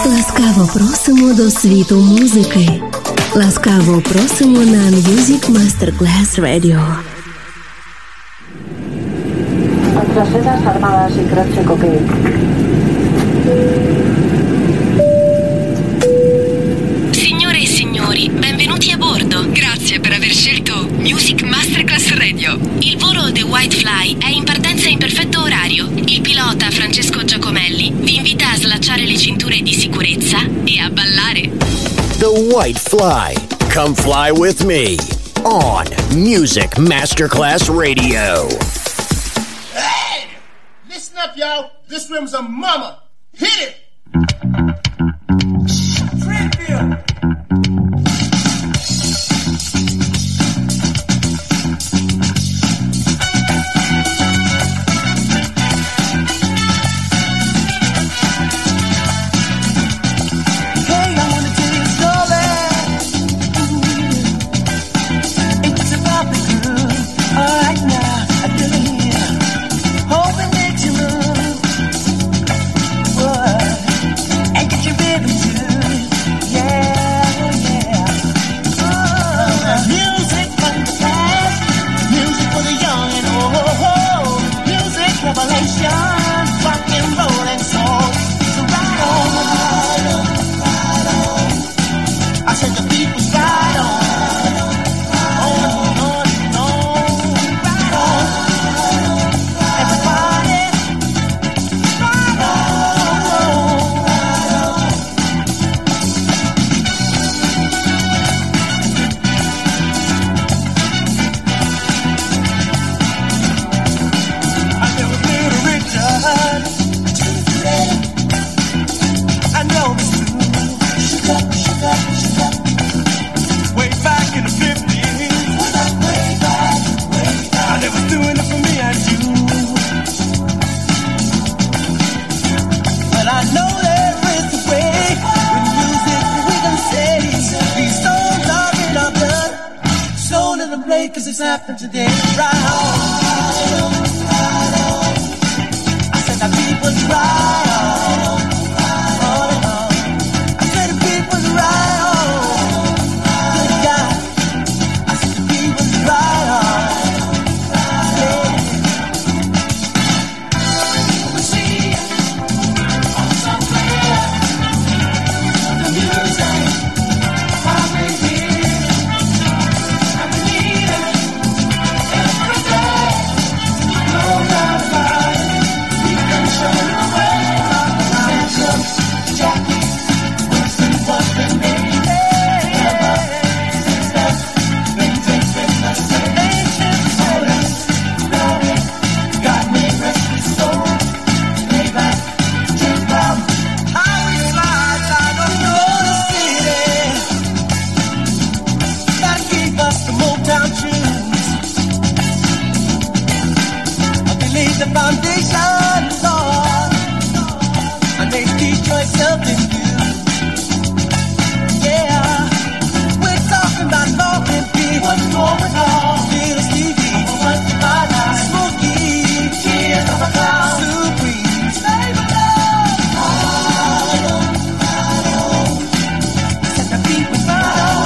Ласкаво просимо до світу музики. Ласкаво просимо на Music Masterclass Radio. Nuestras armadas y croce coquet. Signore e signori, benvenuti a bordo. Grazie per aver scelto Music Masterclass Radio. Il volo The White Fly è in partenza in perfetto orario. Il pilota Francesco Giacomelli vi invita a slacciare le cinture di sicurezza e a ballare. The White Fly. Come fly with me on Music Masterclass Radio. Hey! Listen up, y'all. This rim's a mama. Hit it! Trivia! Today, right on. I said the people's right on. I said the people's right on. Good God. I said the people's right on. We see on somewhere the music probably here. I believe it. The foundation, Lord, and they teach yourself in you. Yeah, we're talking about love and peace. What's going on? Little Stevie, what's the matter? Smokey, tears of a cloud. Supreme, save a love. Set the people down.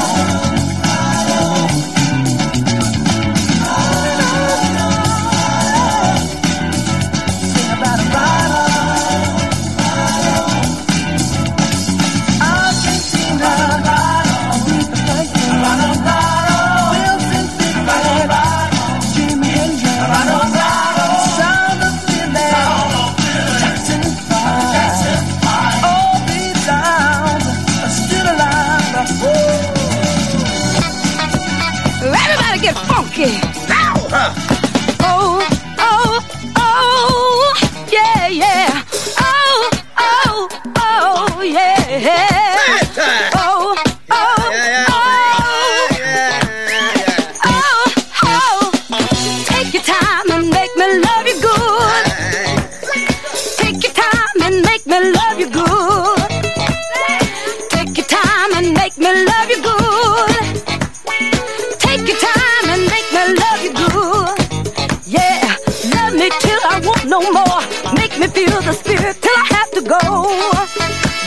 Get funky. Oh, oh, oh, yeah, yeah. Oh, oh, oh, yeah. Oh, oh, oh, oh, oh. Take your time and make me love you good. Take your time and make me love you good. Take your time and make me love you good. Take your time and make me love you good. Yeah, love me till I want no more. Make me feel the spirit till I have to go. Yeah.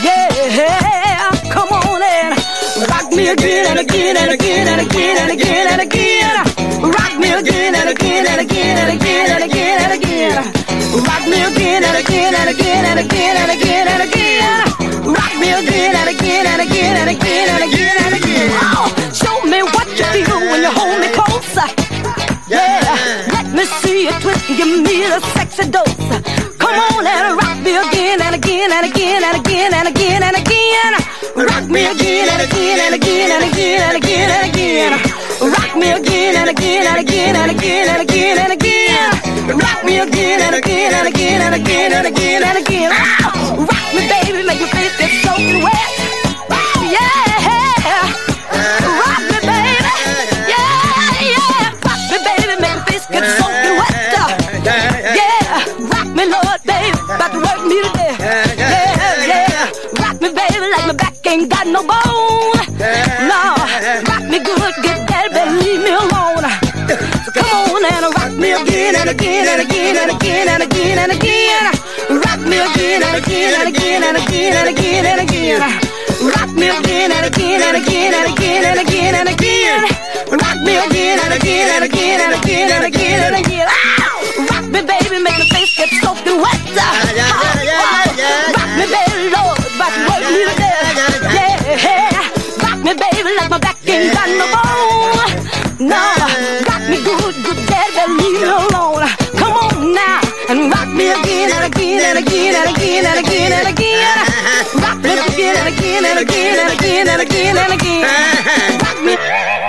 Yeah, come on and rock me again and again and again and again and again and again. Rock me again and again and again and again and again and again. Rock me again and again and again and again and again and again. Rock me again and again and again and again and again and again. Oh, show me what you feel when you hold me closer. Yeah, let me see you twist and give me the sexy dose. Come on and rock me again and again and again and again and again and again. Rock me again and again and again and again and again and again. Rock me again and again and again and again and again and again. Rock me again and again and again and again and again and again. Rock me, baby, make me feel this soaking wet. Yeah, rock me, baby. Yeah, rock me, baby, make me feel get soaking wet. Yeah, rock me, Lord, baby, about to work me today. Yeah, rock me, baby, like my back ain't got no bone. No, rock me good, get that, but leave me alone. So come on and rock me again and again and again and again and again and again. Rock me again and again and again and again and again and again. Rock me again and again and again and again and again and again. Rock me again and again and again and again and again and again. Rock me, baby, make my face get soaking wet. Rock me, baby, Lord, about to work me to death. Yeah, rock me, baby, like my back ain't got no bone. No, rock me good, good, daddy, but leave me alone. Come on now and rock me again and again and again and again and again and again. Rock me again and again and again and again and again and again. Rock me.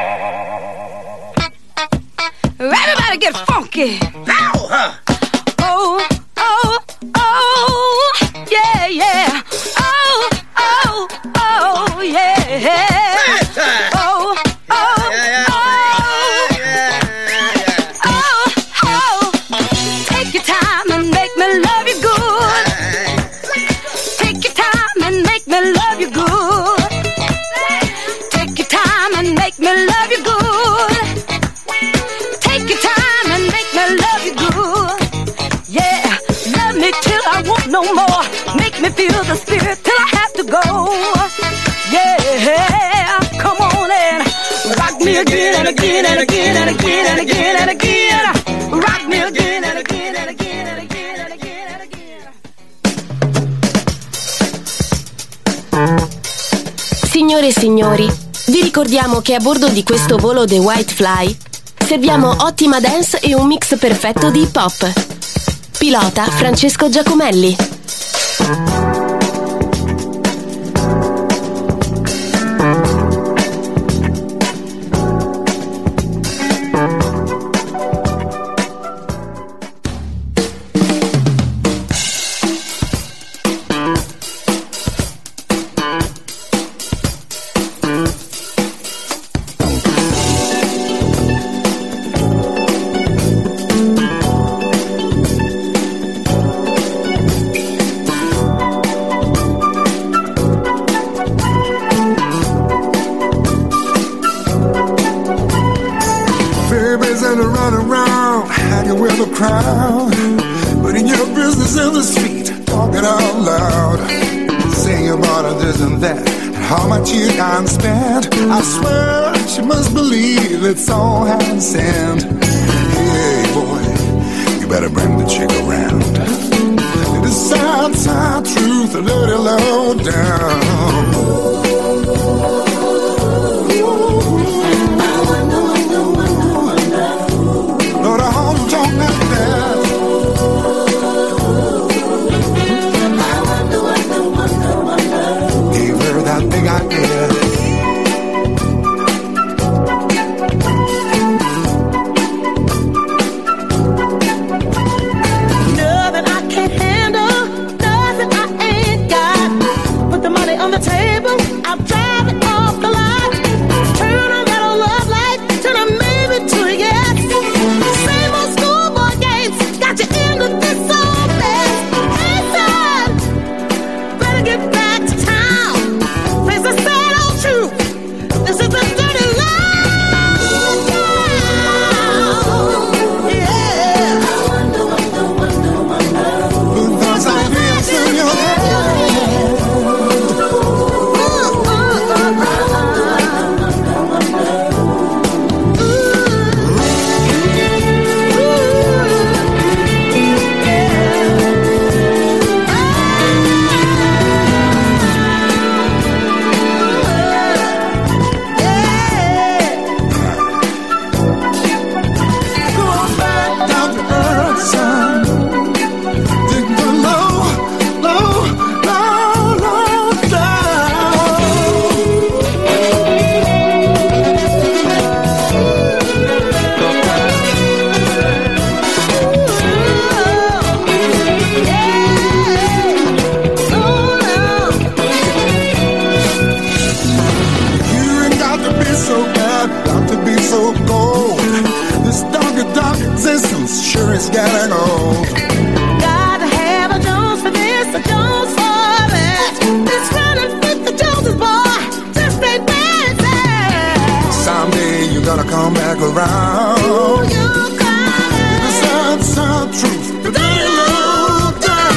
Everybody get funky. Oh, oh, oh, yeah, yeah. Oh, oh, oh, yeah. Oh, oh, oh, oh, oh. Take your time and make me love you good. Take your time and make me love you good. Take your time and make me love you good. Take your time and make me love you good. Yeah, love me till I want no more. Make me feel the spirit till I have to go. Yeah, come on and rock me again and again and again and again and again and again. Rock me again and again and again and again and again and again. Signore e signori, vi ricordiamo che a bordo di questo volo The White Fly serviamo ottima dance e un mix perfetto di hip hop. Pilota Francesco Giacomelli. crowd, putting your business in the street, talking out loud, saying about this and that, and how much you can spend. I swear she must believe it's all hand sent. Hey boy, you better bring the chick around. It is sad, sad truth, a little low down. Lord, I hope you don't have that. Gave her that big idea. Nothing I can't handle, nothing I ain't got. Put the money on the table, I'll drive it off the lot. Turn on that old love light, turn a maybe to a yes. Same old schoolboy games, got you into this old mess. Hey son, better get back to town. Face the sad old truth, this is a dirty love town. Yeah. Put those ideas in your head. just gotta go. Gotta have a Jones for this, a Jones for that. This running with the Joneses, boy, just ain't bad. Someday you're gonna come back around. Ooh, you're coming. The sad truth, the dirty low down.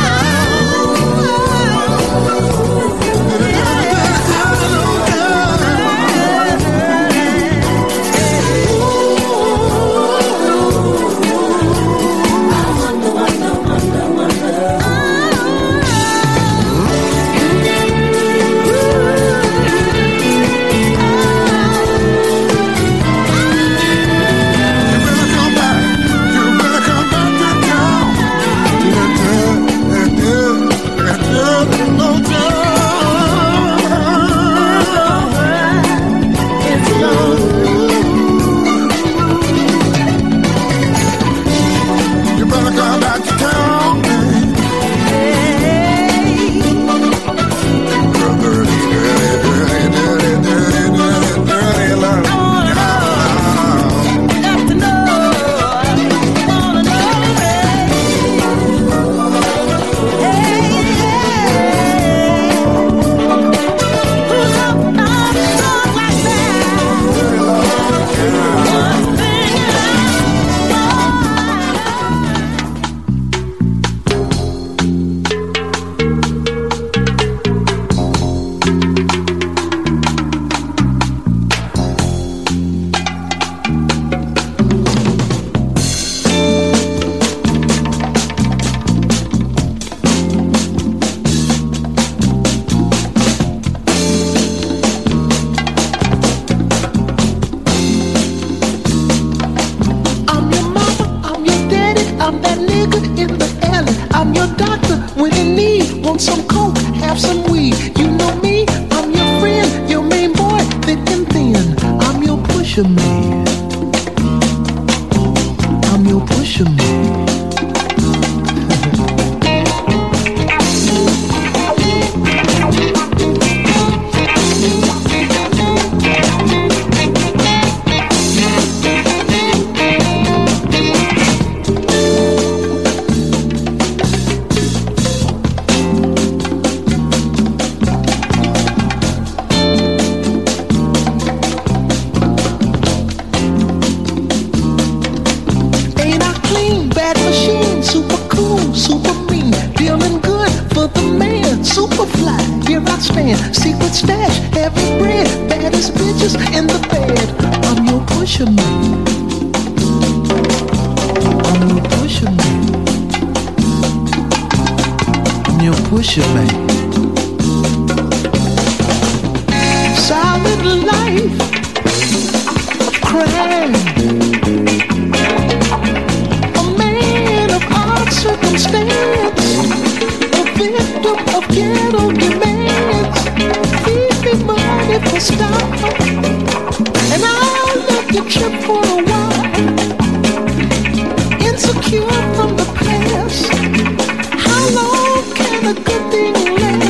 Insecure from the past. How long can a good thing last?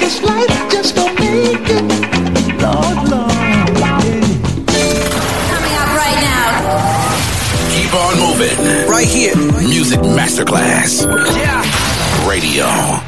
this life just don't make it. Lord, Lord, yeah. Coming up right now. Keep on moving. Right here. Music Masterclass. Yeah. Radio.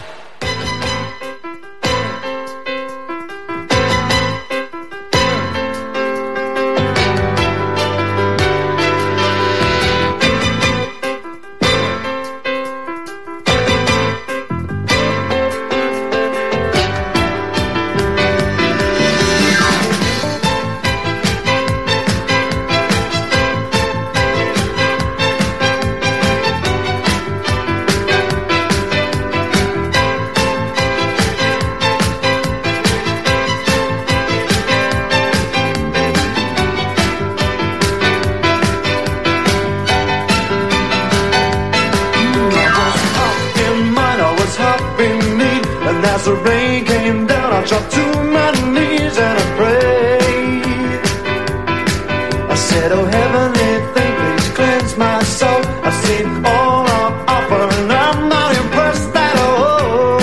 As the rain came down, I dropped to my knees and I prayed. I said, oh heavenly thing, please cleanse my soul. I've seen all on offer and I'm not impressed at all.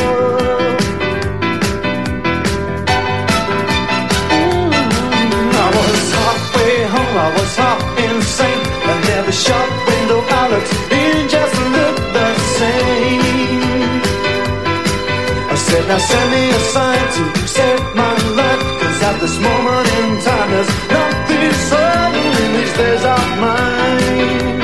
I was halfway home, I was half insane, and every shop window I looked in just looked the same. I said, now send me a sign to save my life, cause at this moment in time there's nothing certain in these days of mine.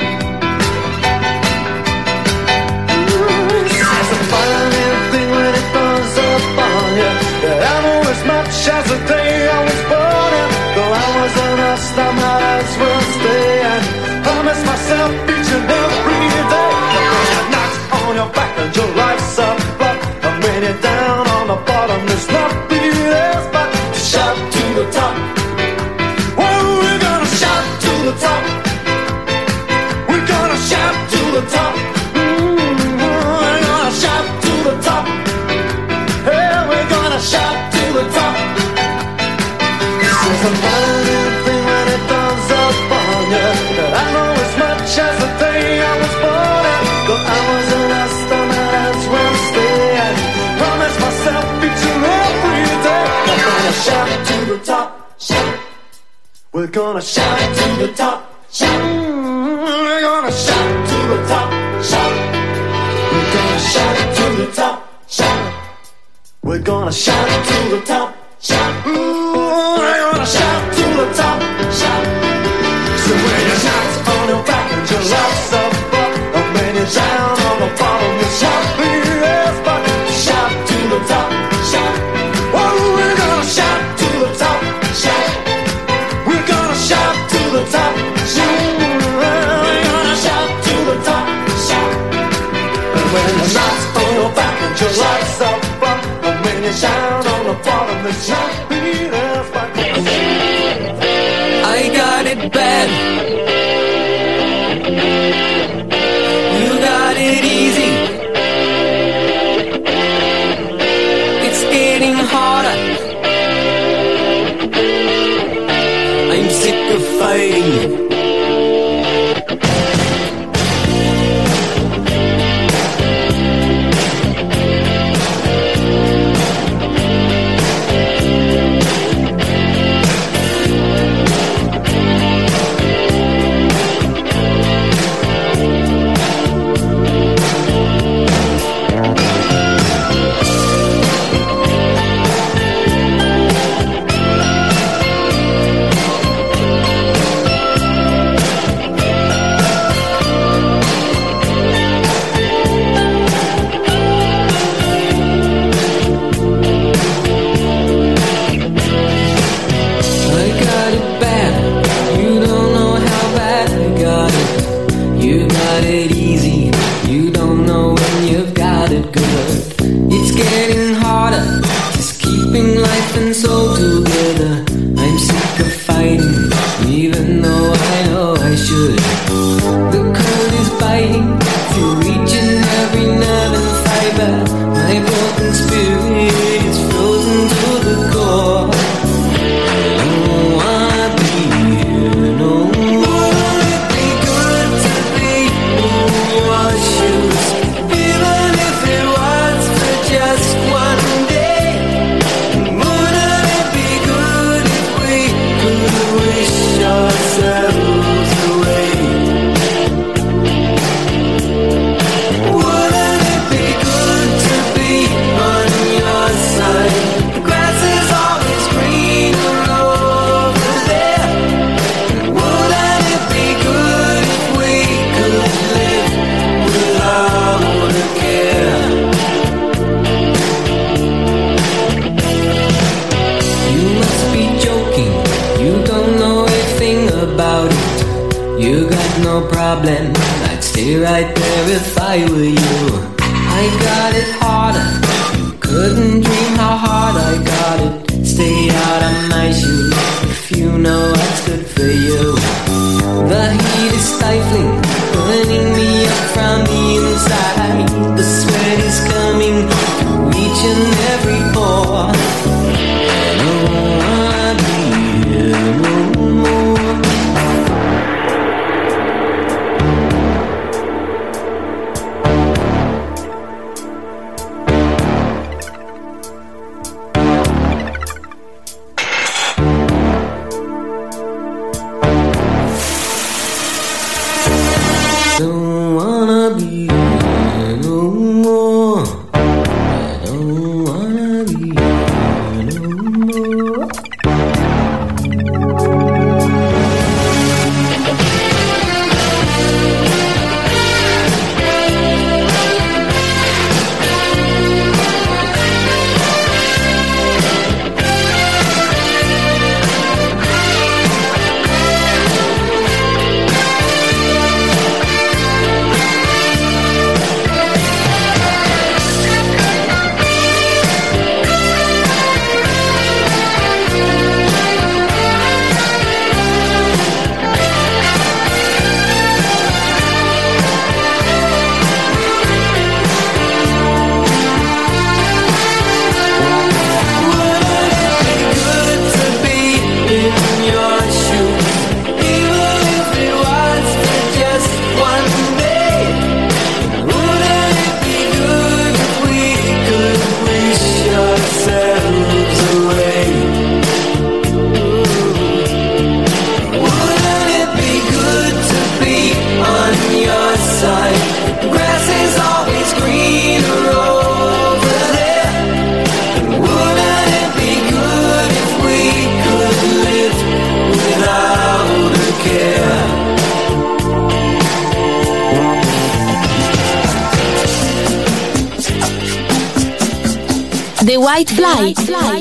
It's a funny thing when it comes up on you. I know as much as the day I was born in. Though I wasn't lost, I might as well stay and promise myself each and every day that when you're knocked on your back and your life's up, when you're down on the bottom, there's nothing else but to shout to the top. Well, we're gonna shout to the top. We're gonna shout to the top. We're gonna shout to the top. Hey, we're gonna shout to the top. It's a funny thing when it comes up on you. I know as much as the day I was born in. Though I wasn't lost, I might as well stay and promise myself each and every day. We're gonna shout to the top, shout. We're gonna shout to the top, shout. We're gonna shout to the top, shout. We're gonna shout to the top, shout. We're gonna shout to the top, shout. We're gonna shout to the top, shout. So when you're knocked on your back and your life's up, and when you're down on the bottom, you shout the yes, but shout to the top, shout. Oh, we're gonna shout to the top, shout. We're gonna shout to the top, shout. We're gonna shout to the top, shout. And when you're knocked on your back and your life's up, and when you're down on the bottom, you shout the yes, but I were you. I got it harder. Couldn't dream how hard I got it. Stay out of my shoes if you know what's good for you. The heat is stifling, burning me up from the inside. The sweat is coming through each and every pore. I don't wanna be here no more. Don't wanna be here no more. I don't wanna be here no more. The White Fly.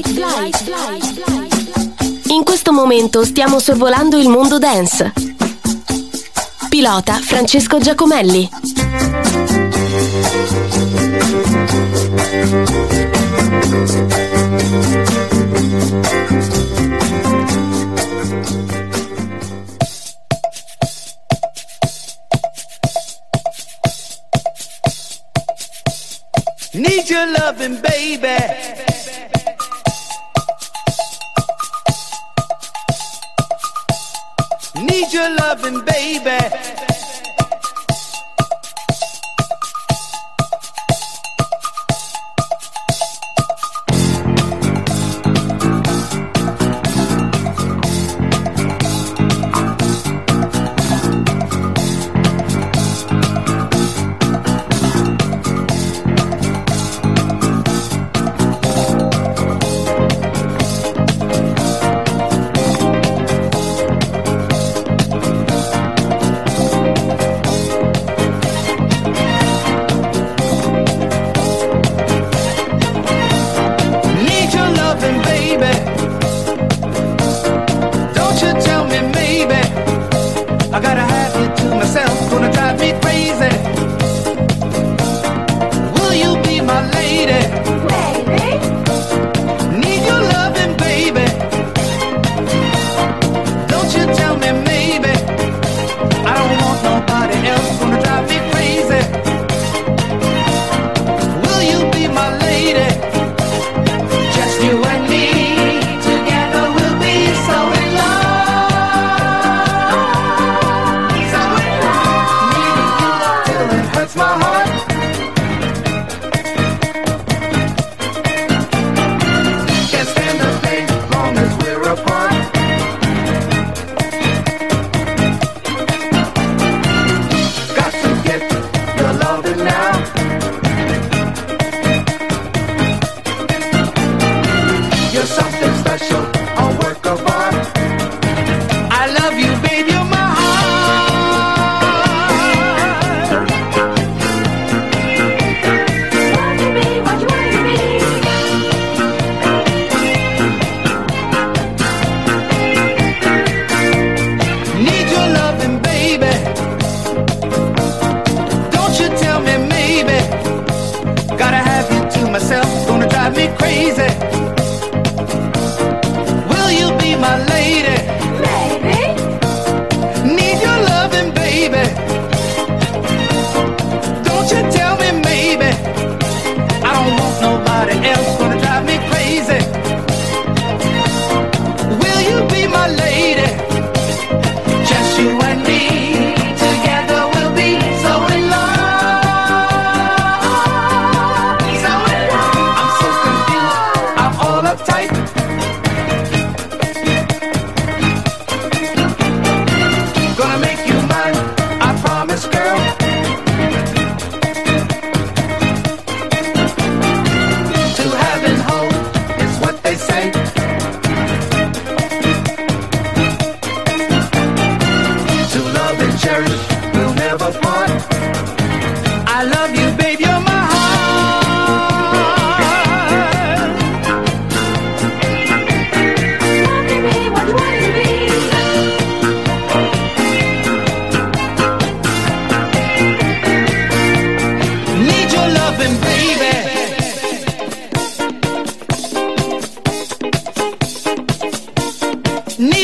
In questo momento stiamo sorvolando il mondo dance. Pilota Francesco Giacomelli. Need your loving, baby. Need your loving, baby.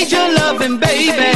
need your loving, baby.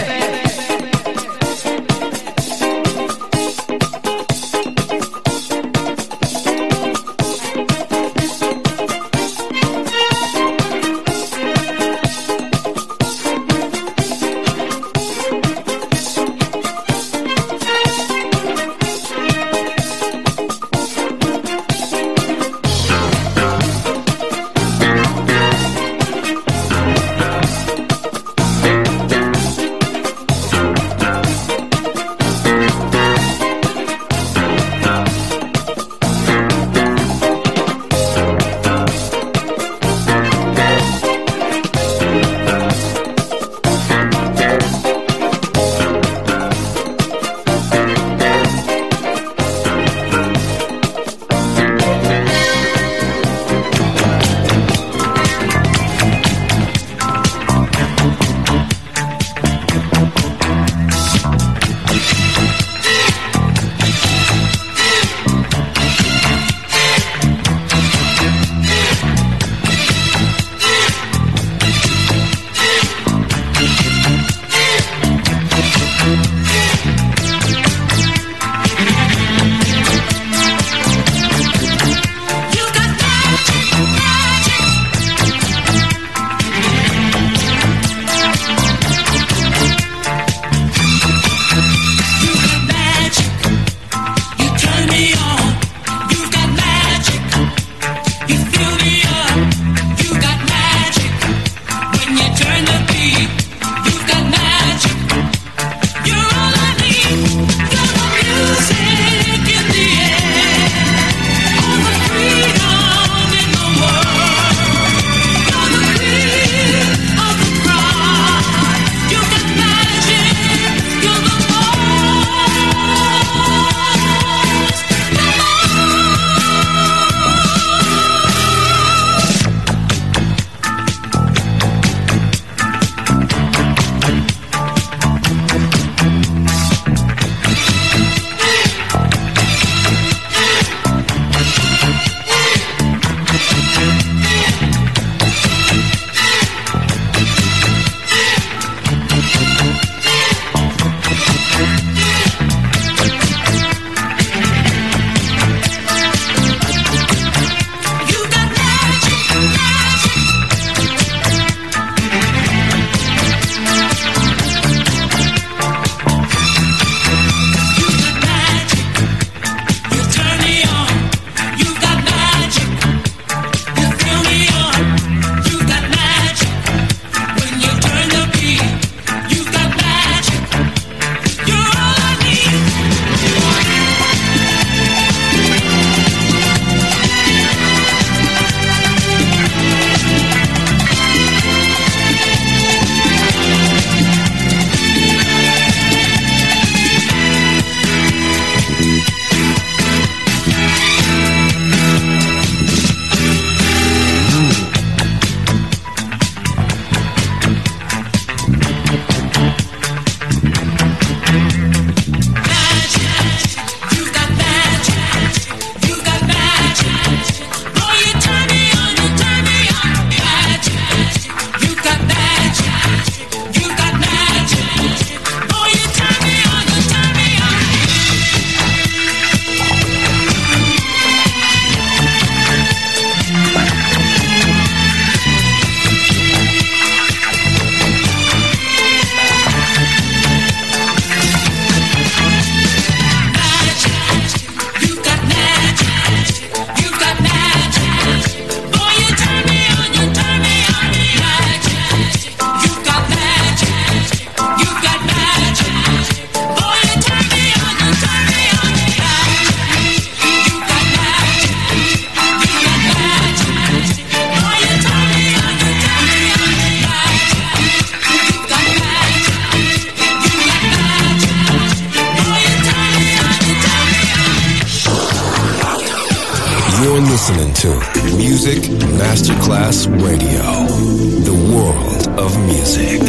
You're listening to Music Masterclass Radio, the world of music.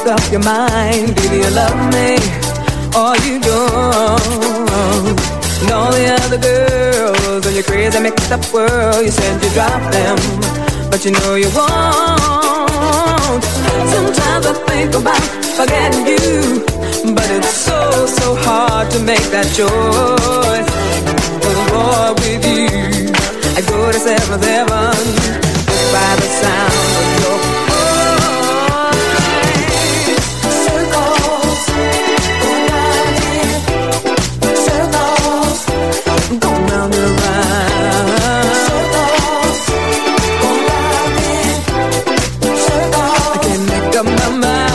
up your mind. Do you love me or you don't? And all the other girls in your crazy mixed up world, you said you dropped them, but you know you won't. Sometimes I think about forgetting you, but it's so, so hard to make that choice. But boy, with you, I go to 7-Eleven just by the sound of your voice. Circles, go round it. Circles, go round and round. Circles, go round it. Circles, I can't make up my mind.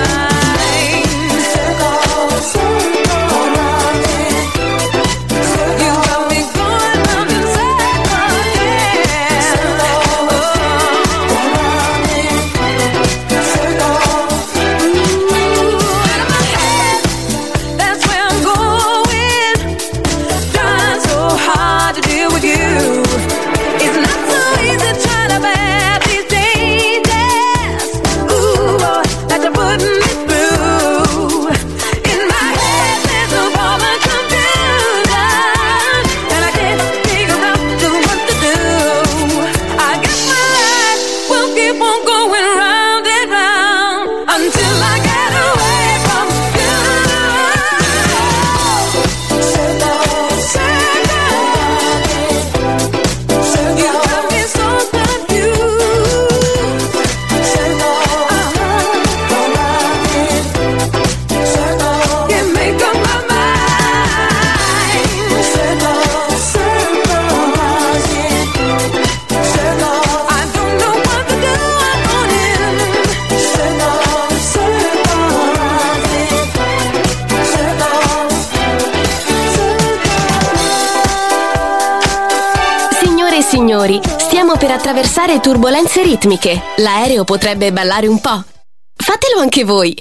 Signori, stiamo per attraversare turbolenze ritmiche. L'aereo potrebbe ballare un po'. Fatelo anche voi.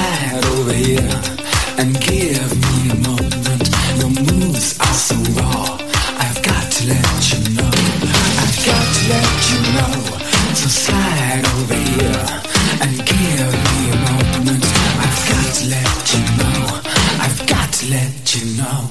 slide over here and give me a moment. Your moves are so raw, I've got to let you know. I've got to let you know. So slide over here and give me a moment. I've got to let you know. I've got to let you know.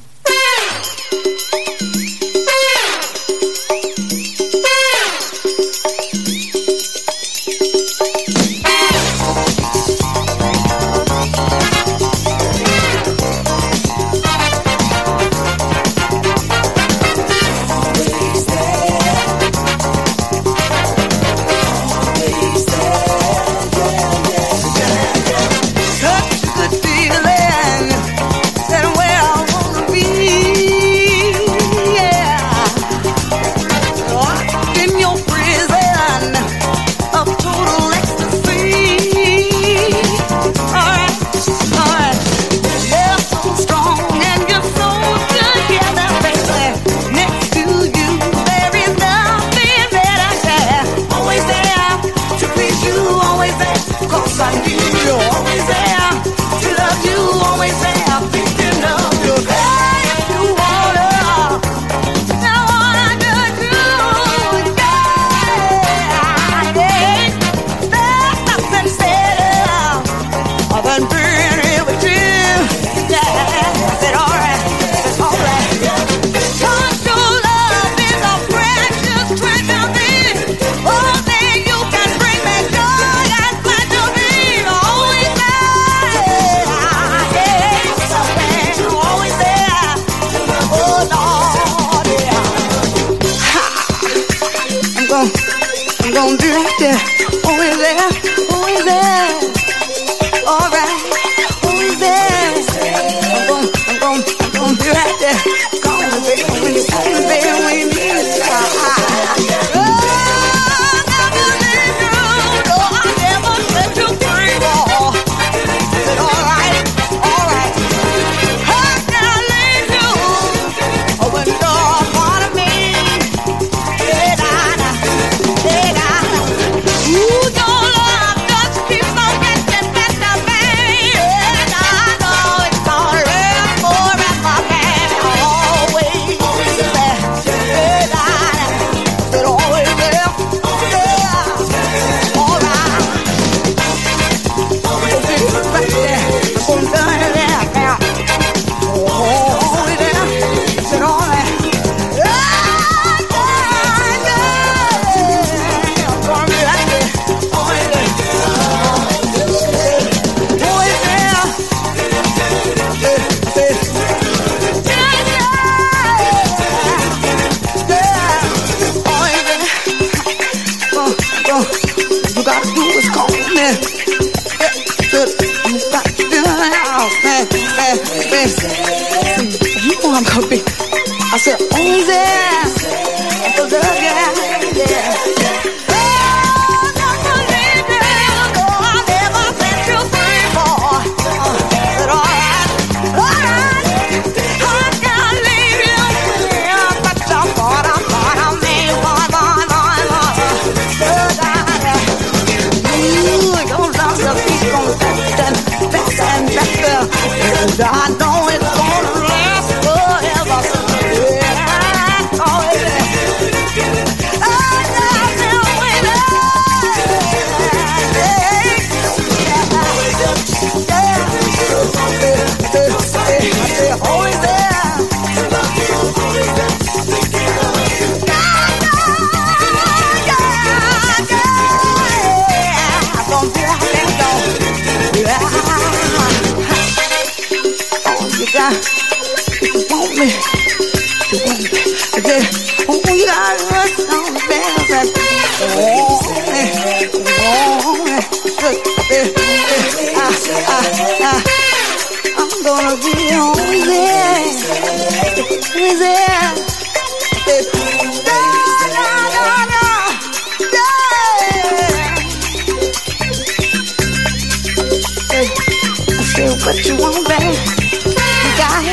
What you want, babe? You got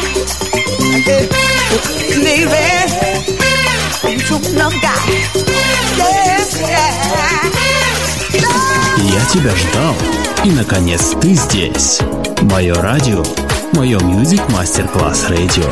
it. Baby, you love guy. Yes, yeah. Я тебя ждал, и наконец ты здесь. Мое радио, мое Music Masterclass Radio.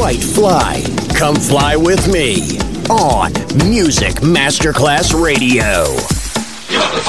White Fly. Come fly with me on Music Masterclass Radio.